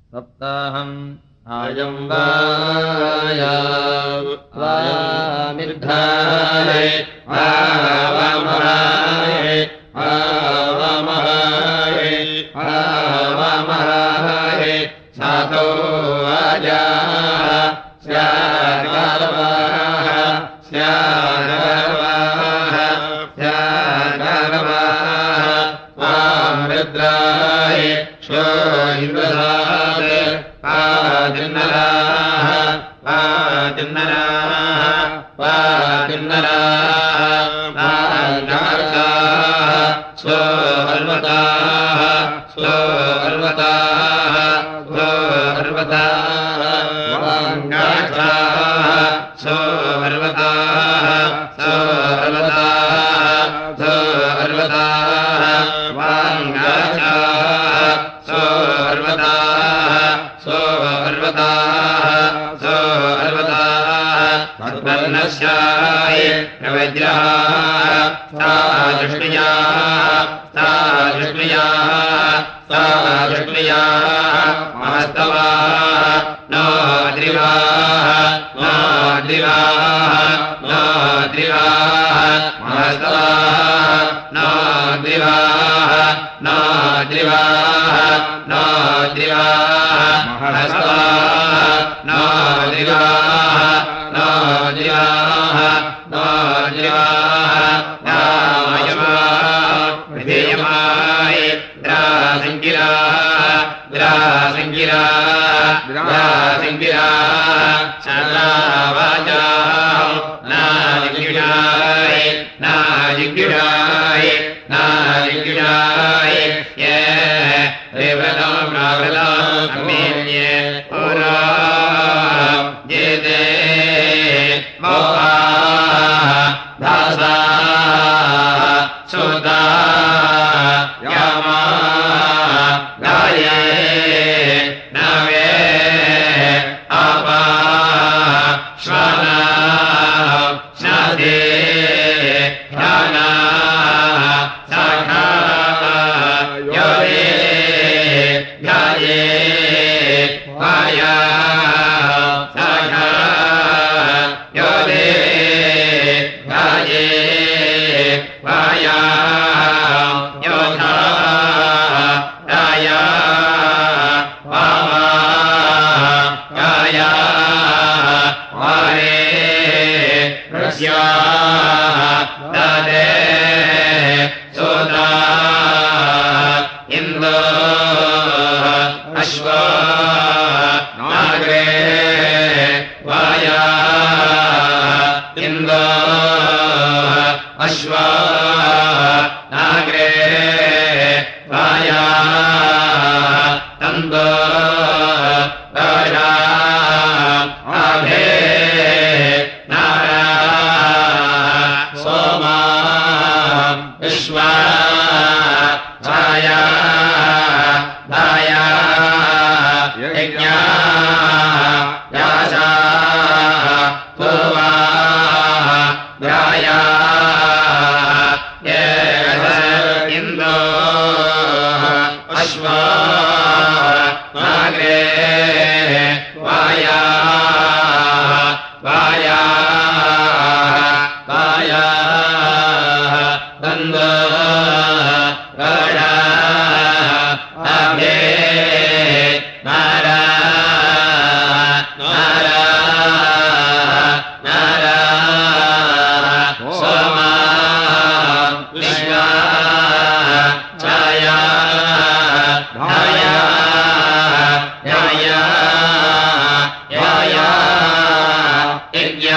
सप्ताहम् आयम् वामिर्धाय आवमहाय आवमहाय आवमहाय सातो वाजाः स्यागर्वाः स्यागर्वाः स्यागर्वाः वामृद्राय शो इन्द्रधात् पादिन्नराः पादिन्नराः पादिन्नराः पादिन्नराः स्वो अर्वताः स्वो अर्वताः स्वो अर्वताः वाङ्गाक्षाः स्वो अर्वताः स्वो अर्वताः स्वो अर्वताः वाङ्गाक्षाः स्वो अर्वताः स्वो अर्वताः स्वो अर्वताः तद्वर्णस्याय प्रवज्राः सा दृष्टियाः सा दृष्टियाः सा दृष्टियाः महस्तवाः नो द्रिवाः नो द्रिवाः नो द्रिवाः महस्तवाः नो द्रिवाः नो द्रिवाः नो द्रिवाः महस्तवाः नो द्रिवाः नो द्रिवाः नो द्रिवाः विधेयमाय द्रासङ्गिराः द्रासङ्गिराः द्रासङ्गिराः सदावाचाः नाजिज्ञाय नाजिज्ञाय नाजिज्ञाय ये रेवतो प्रावृतो अमेन्ये पुरा जेते मोहा दासा सुता यामा गाये नवे आपा श्वाना स्नादे ध्याना साखा योरे ध्याये वाया साखा योरे ध्याये वाया योधा राया वामा गाया वारे रस्या दादे सोदा इन्दो अश्वा नागरे वाया इन्दो अश्वा नागरे वाया तन्दो राजा आभे नारा सोमा विश्वा छाया धाया यज्ञा यासा पूर्वा ध्याया इन्दो अश्वा नागरे वाया वाया वाया तन्दो राजा आभे नारा नारा नारा सोमा विश्वा छाया धाया याया याया यज्ञ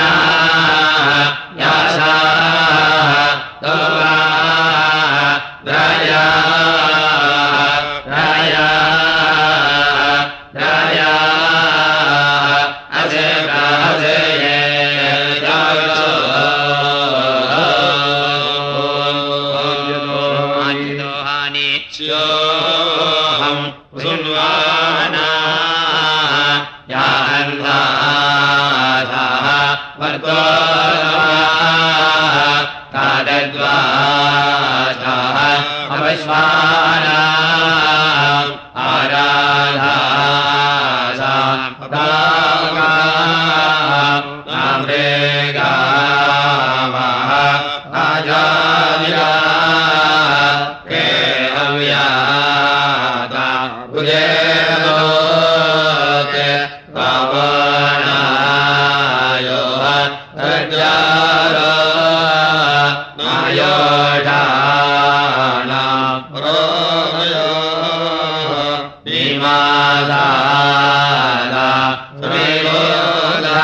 उजेलोके पावनायो अज्जारो नायोषाणा रोमयो निमादाला सुमेलोदा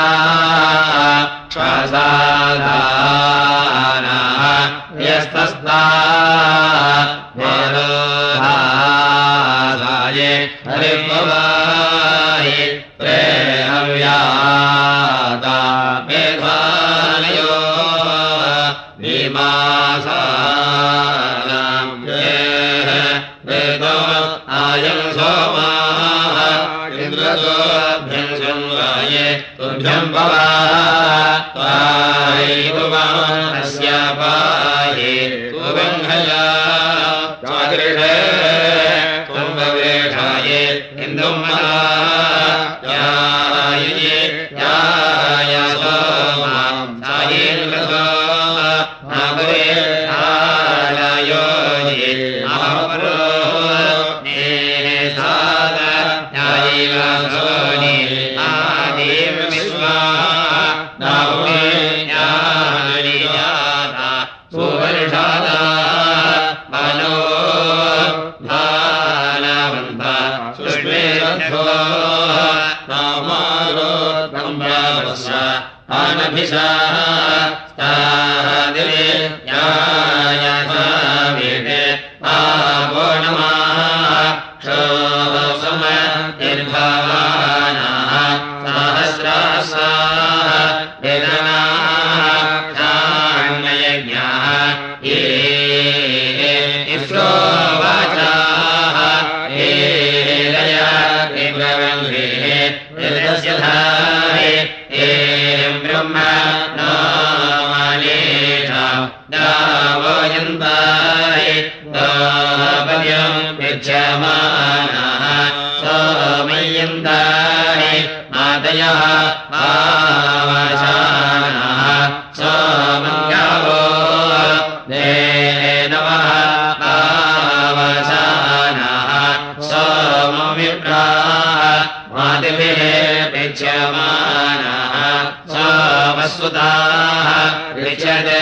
क्षसादाना यस्तस्ता वेलोधादाये हरिपवाहि प्रेहव्याता मेधानयो विमासानां वेदो आयं सोमाः इन्द्रतोभ्यं संवाये तुभ्यं भवा त्वायि भुवनस्य पाहि तुवङ्घया चागृहे तुम्भवेषाये इन्दुमला याये याय सोमां सायेन्द्रतो नागवे आलयोजि अहपरो नेसाद यायिवासोनि आदिं विश्वा नागवे यानि याता सुवर्षादा मनो धानवन्त सुष्मेरथो नामारो तम्ब्रावस्य आनभिषा स्तादिवे यायसाविटे आवो नमः क्षोसम निर्भवानाः सहस्रासाः वेदनाः क्षाण्ययज्ञाः ये इफ्रो वाचाः ये लया विब्रवङ्गेः यदस्य धारे ब्रह्म नामालेषा दावयन्ताय दापद्यं विच्छमानः सोमयन्ताय मातयः आवाशानः सोमङ्गावो देनवः आवाशानः सोमविप्राः मातुभिः विच्छमानः सोमस्वताः ऋचते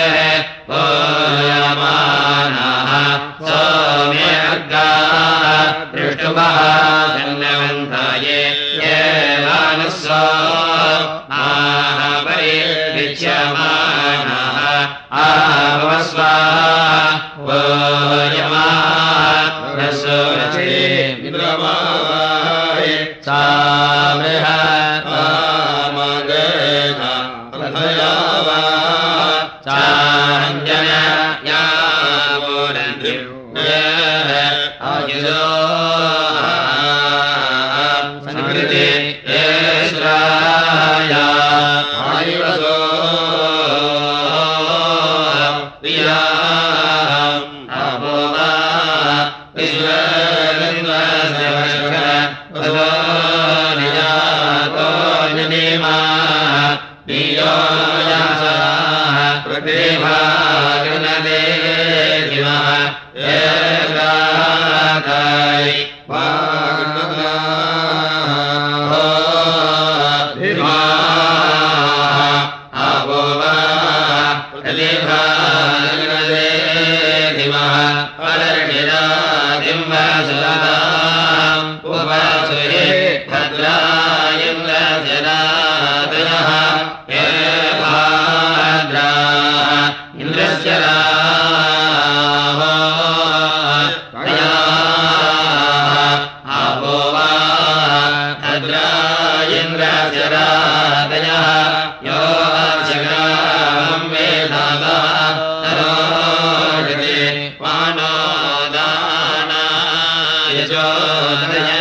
पूयमानः सोमे अर्गाः दृष्टुभः धन्यवन्ताये येवानस्सो महापरि विच्छमानः आवस्वाः पूयमाः रसोरचे विद्रवाय सामृह आमगेना प्रथयावा चाञ्जन यावोरन्तिं आयुधो संकृति येश्राया आयुवसो प्रियाम् अभोवा विश्वगन्धस्य वदो निजातो जनेमा प्रियो यासाः प्रतिभागनदे दिवः एकादाय वाग्नदाः धिमाः अभोवा प्रतिभागनदे दिवः परर्णिरादिं वासुदाम् उपासुरे भद्रायन्द्रजरादयः हे भाद्राः इन्द्रस्य राहो तयाः आपो वा भद्रायन्द्रजरादयः यो जग्रामं वेदाः तरोषते वानो दानाय जोदय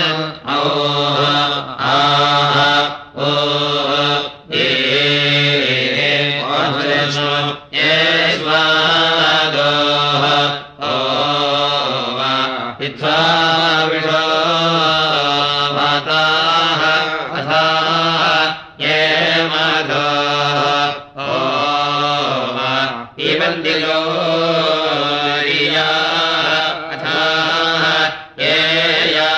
ये या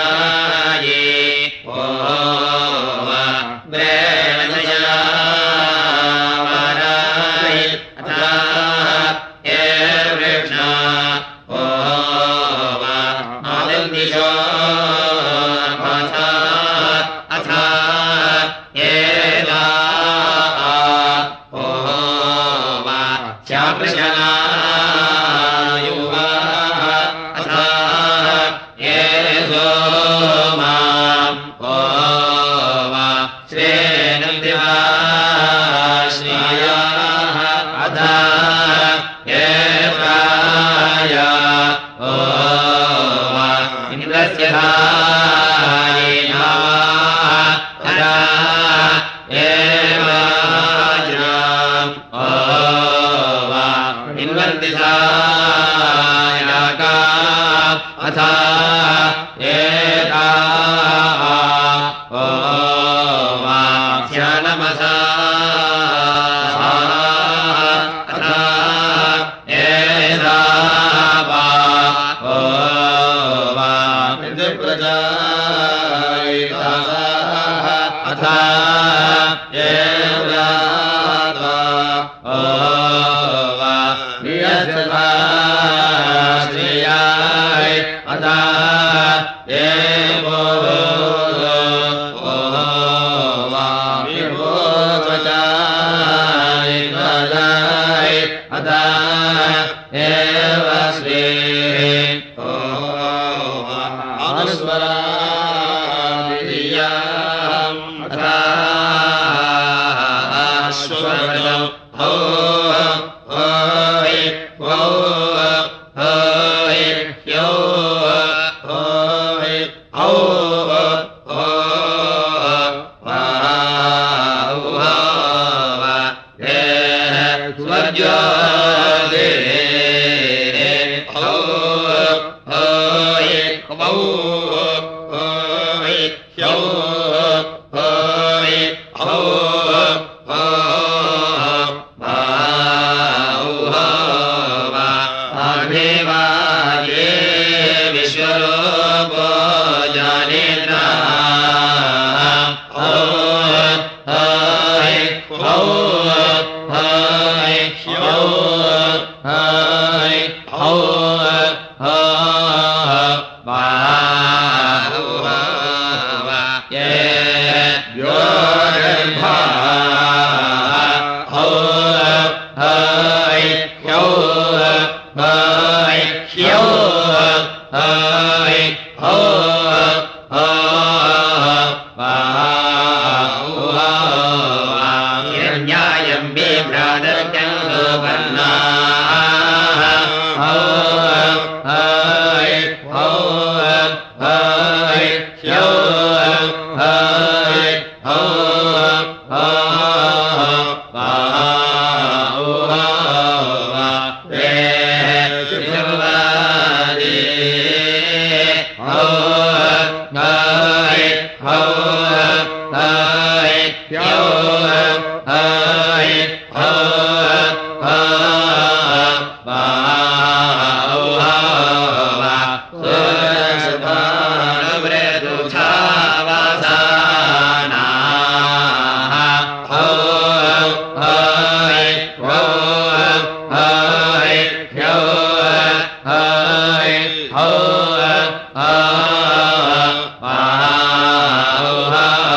Oh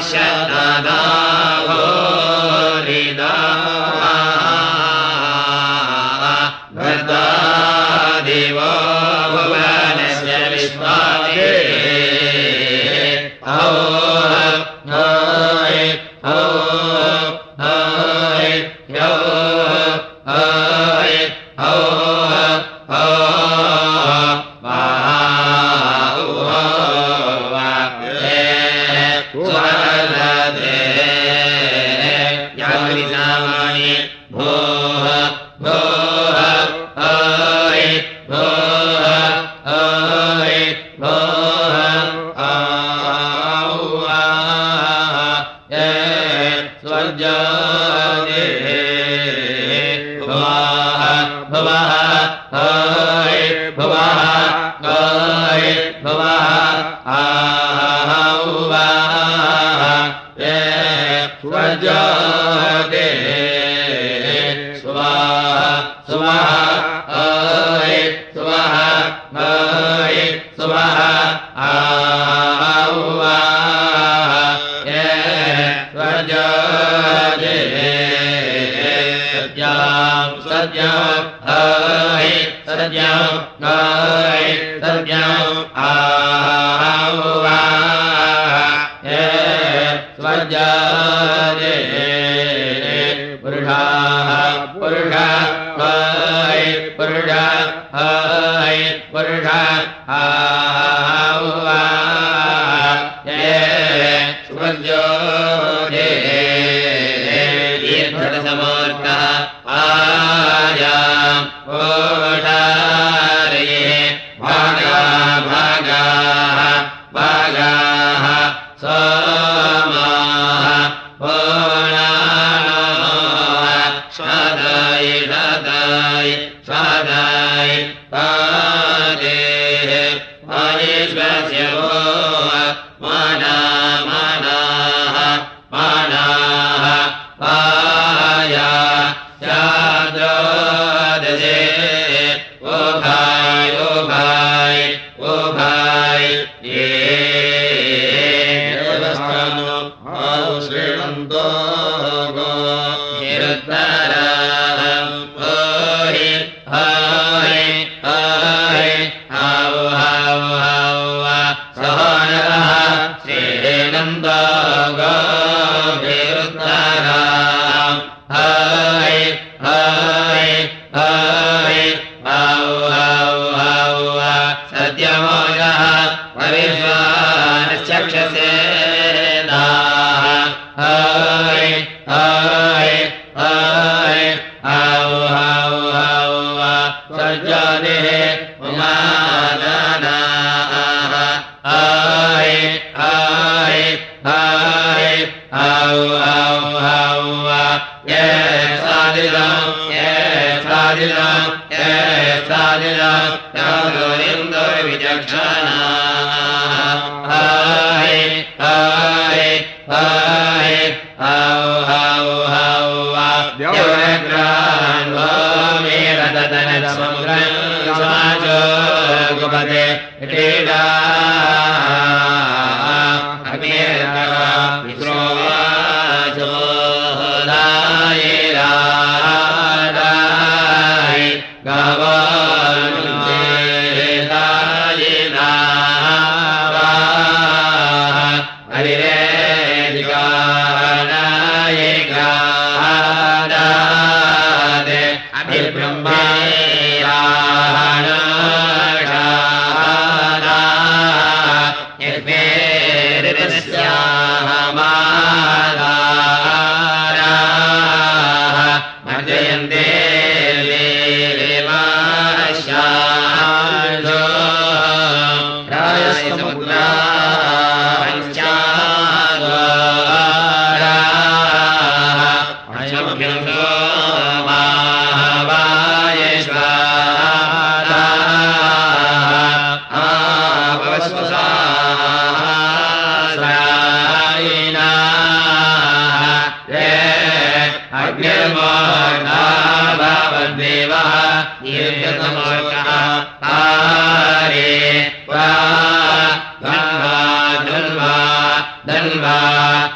धन्वा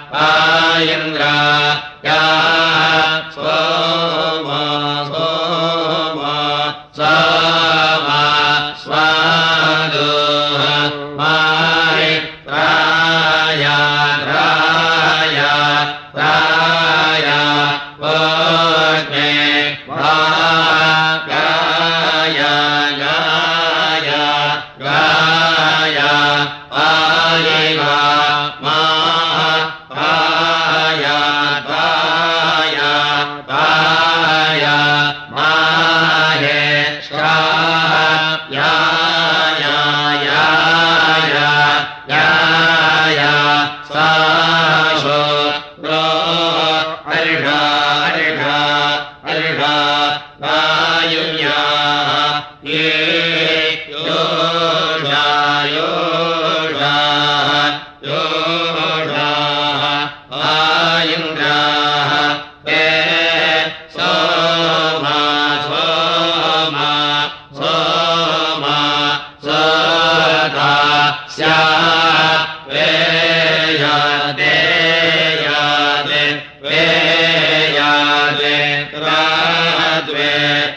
आयन्द्रा या सोमा सोमा सोमा स्वादो माय राया राया राया वज्ञे गाया गाया गाया आयेवा मा पाया पाया पाया माहे श्रा या या या या या या साशो रो अर्घा अर्घा अर्घा वायुया ये योषा योषा योषा आयन्द्राः ते सोमा सोमा सोमा सदा स्या वेयादे यादे वेयादे राद्वे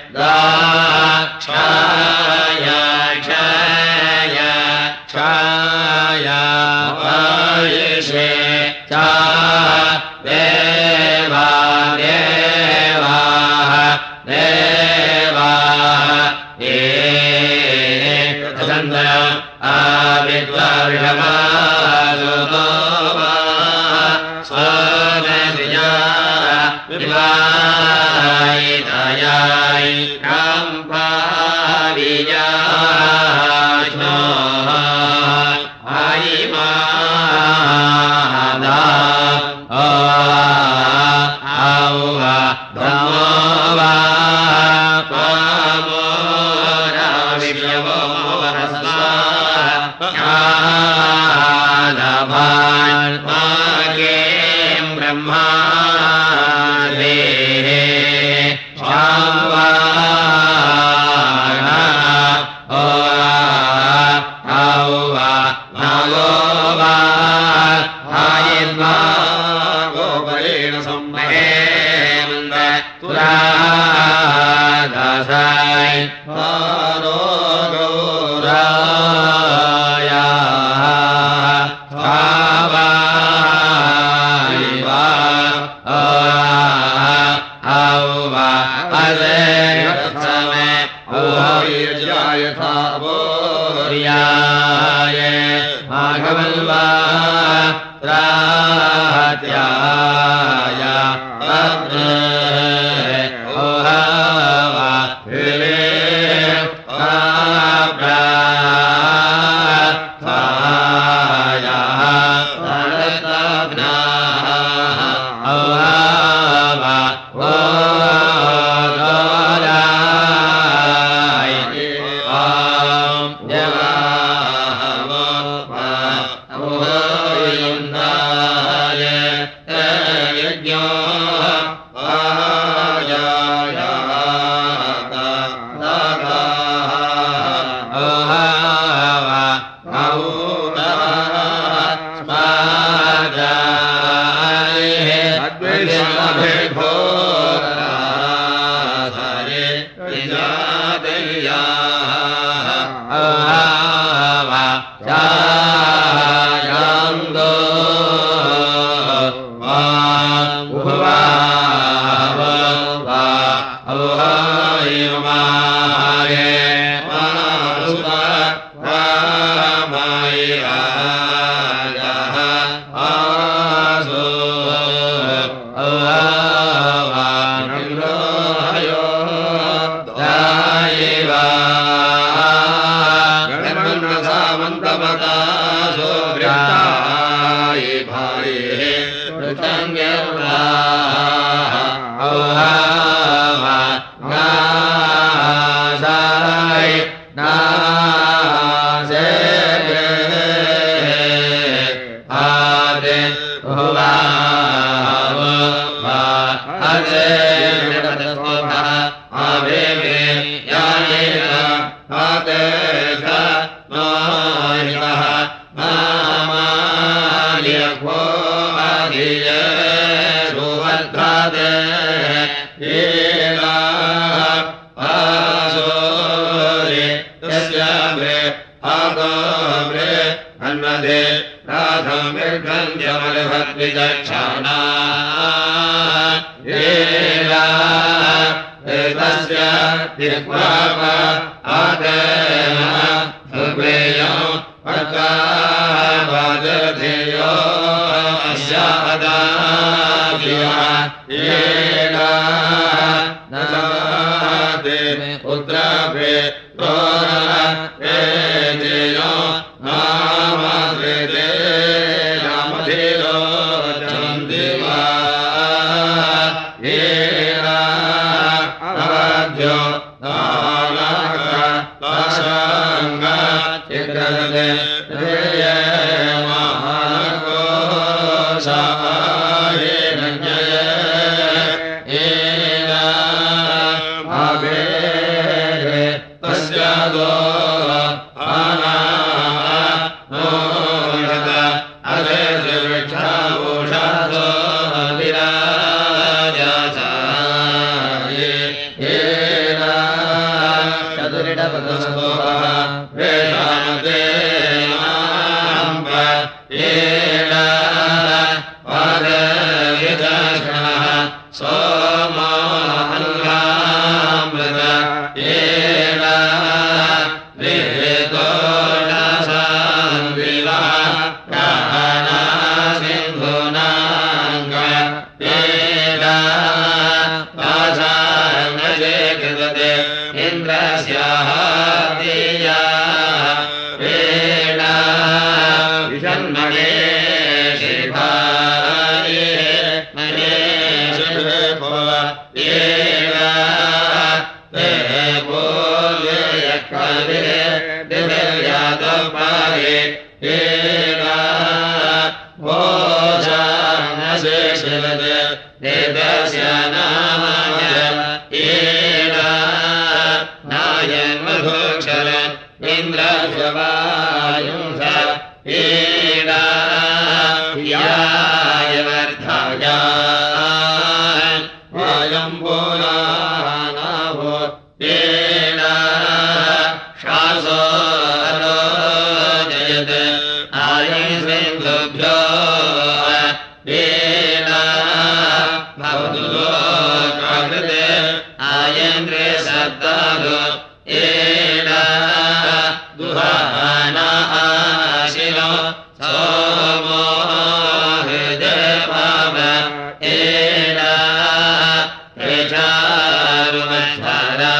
दाक्षाया क्षाया क्षाया वायिषे चा देवा देवाः देवाः एकसन्दरम् आविद्वर्षमासुतोमा स्वनदिया विवायितयाय काम्पावियाश्नोः आयिमादा औवा धमोवा पामोरा विप्लवो वरस्वा आदभान् मागें ब्रह्मा देहे औवा नगोवा आयिन्वा गोपरेण सम्महेमन्द तुरादासाय पारो गौराया भावायिवा औवा अदेशमे औवीर्याय थावोर्याय माघवल्वा त्रात्याय ओहावा हिले प्राया तडताग्ना ओहावा ओदाराय ओम देवावो अमोयन्दाय यज्ञो सुवर्धादे आसोरे तस्याम्रे आगोम्रे अन्वदे राधमिर्गन्ध्यमलभद्विचक्षणा तस्य दिग्वाप आदेम सुग्रेयं अर्कावादधेयो अस्यादाभिया नदादे पुत्राभे तोरा वेदेयो नामद्वेदे नामधेयो चन्दिवा अवध्यो नानाका लाशंगा चित्रदे रेये महाकोशाये नञ्जये आवेरे तस्यादो आना नोयत अदेशे वृक्षावोषादो विराजसाये चतुरिडपदस्तोः वेदामते नाम्ब पादविदर्शनः सोमोऽहल्लामृत वेदोषान्विवा प्राणासिन्धूनाङ्ग पाशाङ्गजे कृतते इन्द्रस्याः दिया वेणा विषन्मणे शिखाये मने शिभव येना ते बोल्यकवे दिव्यादपाये येना भोजानसे शिवदे देवस्य नामय येना नायन् मधुक्षरन् इन्द्रशवायुंस येना याय वर्धायान् वायम्भूनानाभो येना शासो अरोजयते आयुष्वेन्दुभ्यो येना भवतु लोकाकृते आयन्द्रे सत्तादो येना दुहाना आशिनो सोमो हृदयभाव येना प्रचारुमध्वरा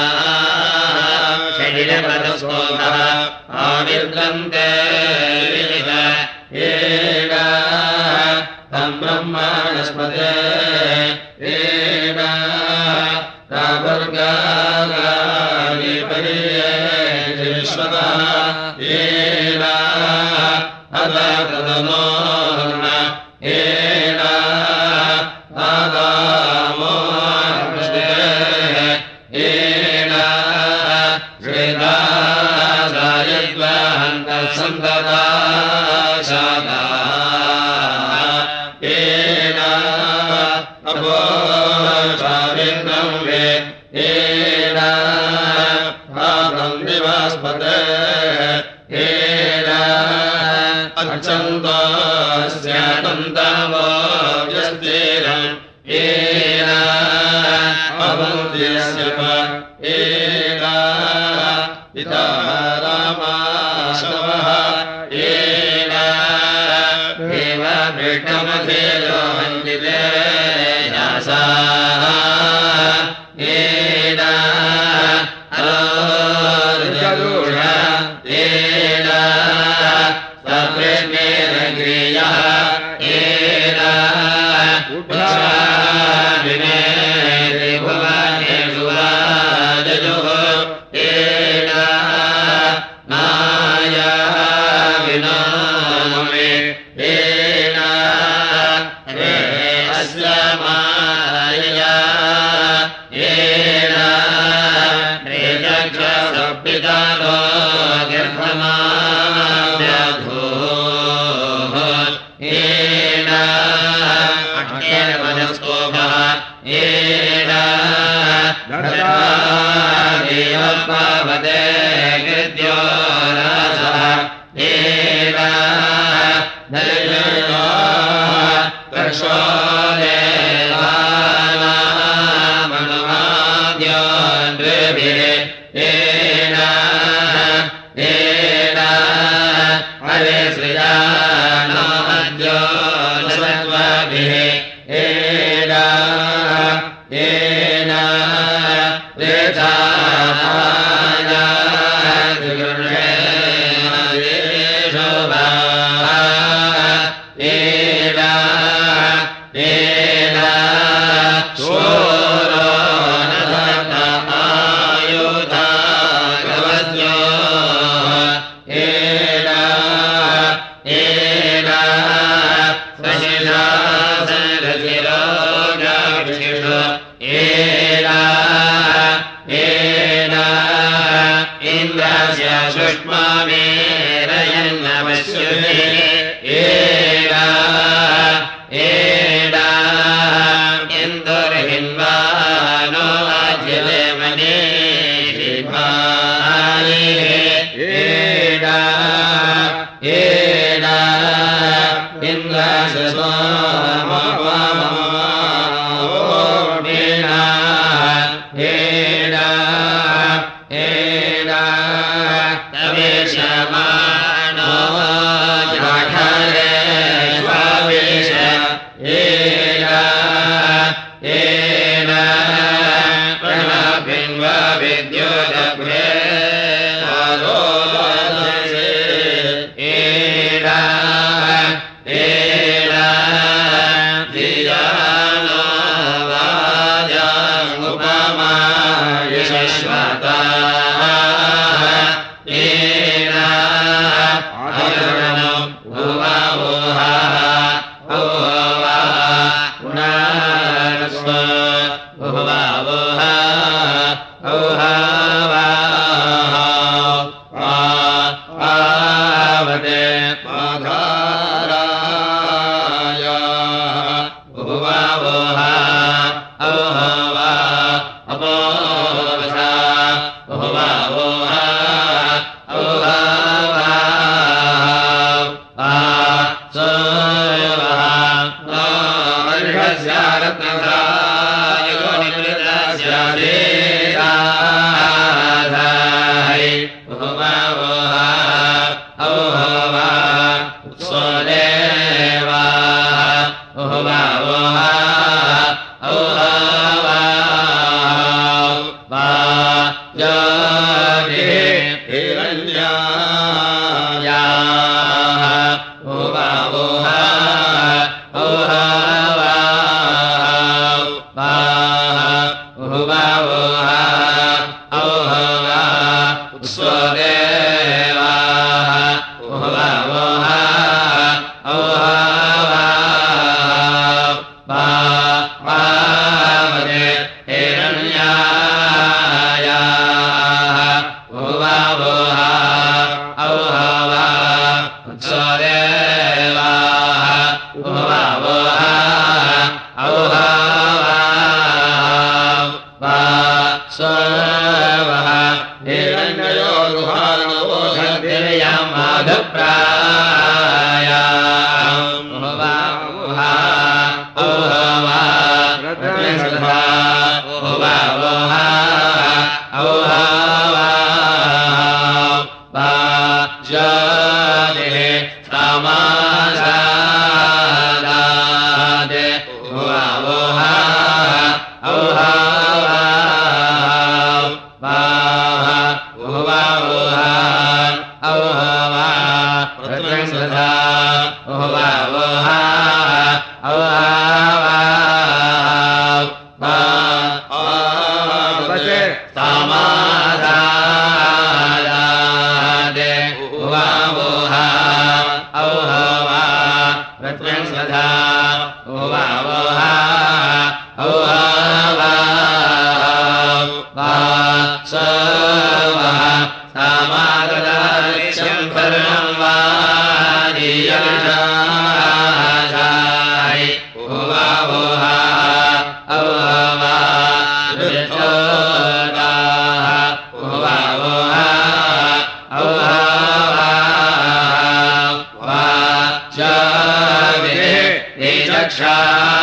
शरीरपदस्तोभः आविर्गन्ते विहित येना तं ब्रह्माणस्पते येना राभर्गानि परियेश्वरः येना अदातनो येना आदामो येना श्वेदासायद्वहन्तसन्तता शादा येना अपोचारिन्द्रं वे येना भागं दिवास्पते येना अच्छन्तस्यानन्दवो व्यस्तिरं येना अवन्त्यस्य येना पिता रामाशवः येना देवभृष्टमधेयो वन्दिते यासा येना अरोर्जदूष येना सप्रेमेरग्रियः येना उच्छादिने त्रिभुवनेषु वाजयुः येना नाया विनोमे येना रे अस्य मायया येना रे चक्षुर्पितानो गर्भमाद्यधो येना मनस्तोभः एडा देवपवते कृत्यो रासः एडा दलितो कर्षो देवानामनुवाद्यो नृभिः एडा एडा हरे श्रियाणो अद्यो नस्त्वभिः एडा एडा रेचाया दुर्गे शोभा एडा एडा शोरो नदता आयुधा गवद्यो एडा एडा सशिषा सरसिरो गाक्षिषो एडा एडा इन्द्रस्य सुष्मामेरयन्नवस्युः एडा एडा इन्दुर्हिन्वानो अज्यते मनीषिभाये एडा एडा इन्द्रस्य सोमवामोमेना एडा एडा तवेशमानो जाठरे स्वावेश एडा एडा प्रणभिन्वा विद्योदभ्रे आरोदसे एडा एडा धियानो वाजामुपमा यशस्वता एडा अजरणो भुवावोहा भुवा पुनरस्व भुवावोहा औहावा आवते माधाराय भुवावोहा औहावा अपोवसा भुवावोहा औहावा सोवहा अर्हस्यारत्नधाय गोनिवृतस्य देदाधाय भुवावोहा औहवा उत्सोदेवाः भुवावोहा औहवा हिरण्यायाः भुवावोहा औहवा भुवावोहा औहवा उत्सोदेवाः भुवावोहा औहवा पावते हिरण्यायाः भुवावोहा औहवा उत्सोदेवाः भुवावोहा औहवा सोवः हिरण्यो गुहानवोधतिर्यं माधुप्रायाम् भुवावोहा औहवा रत्नसुधा भुवावोहा औहवा ज्योतिः समासादादे भुवावोहा औहवा भुवावोहा औहवा रत्नसुधा भुवावोहा औहवा समासादादे भुवावोहा औहवा रत्नसुधा भुवावोहा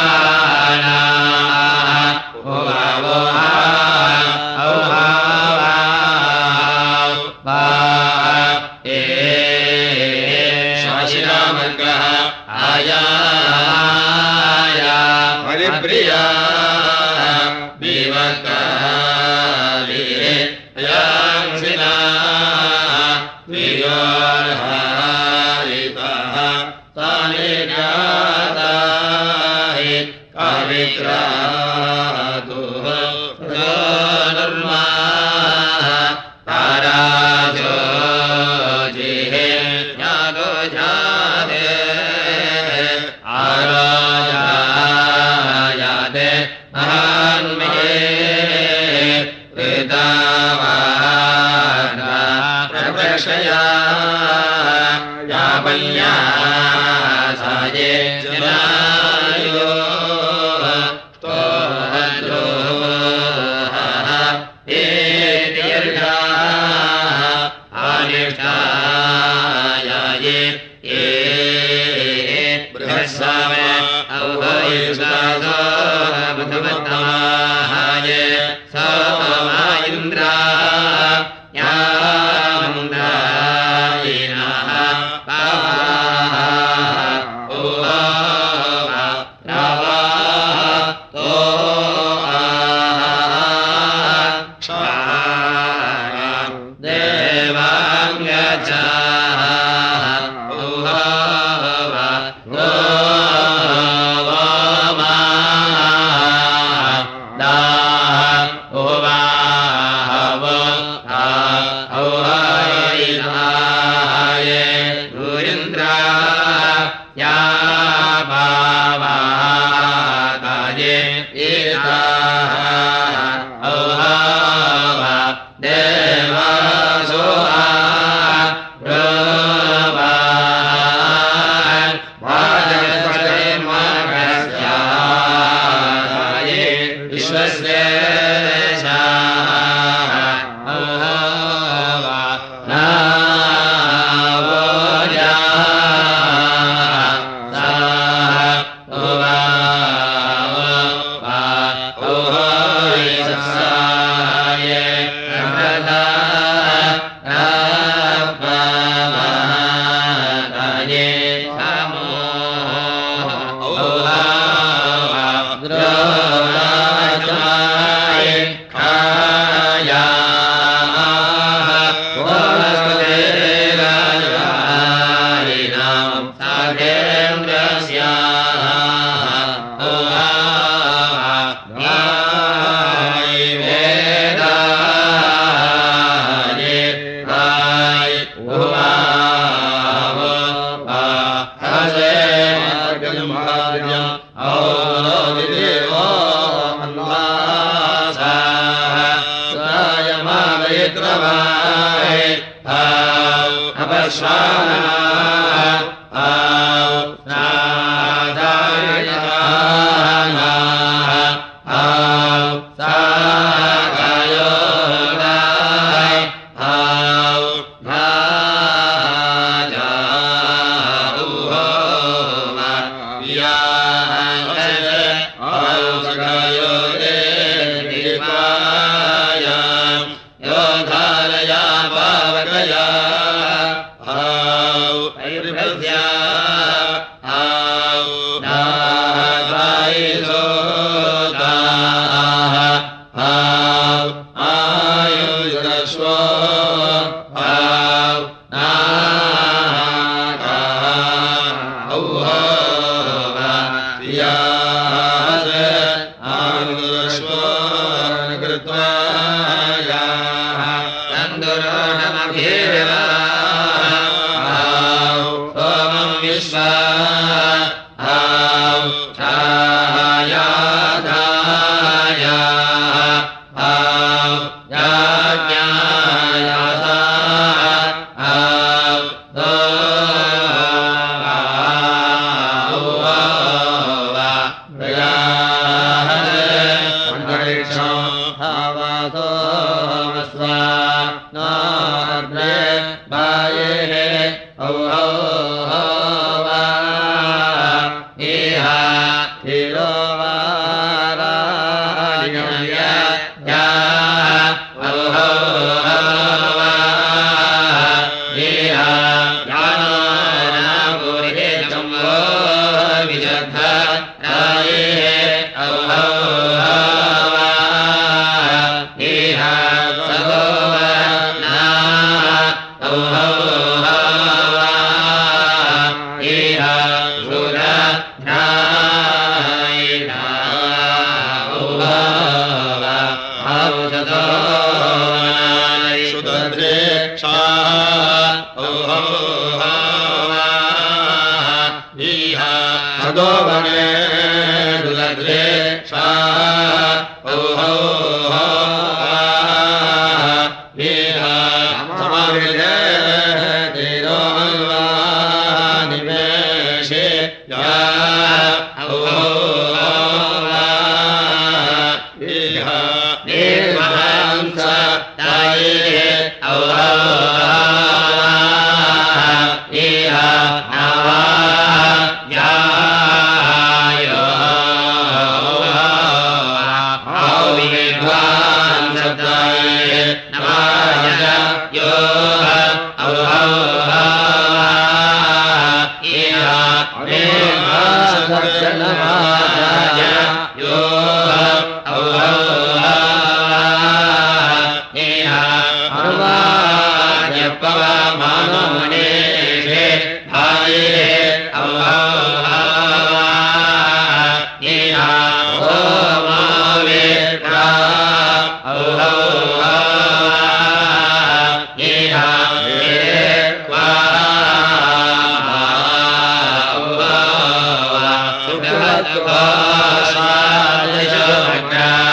Hero Bye.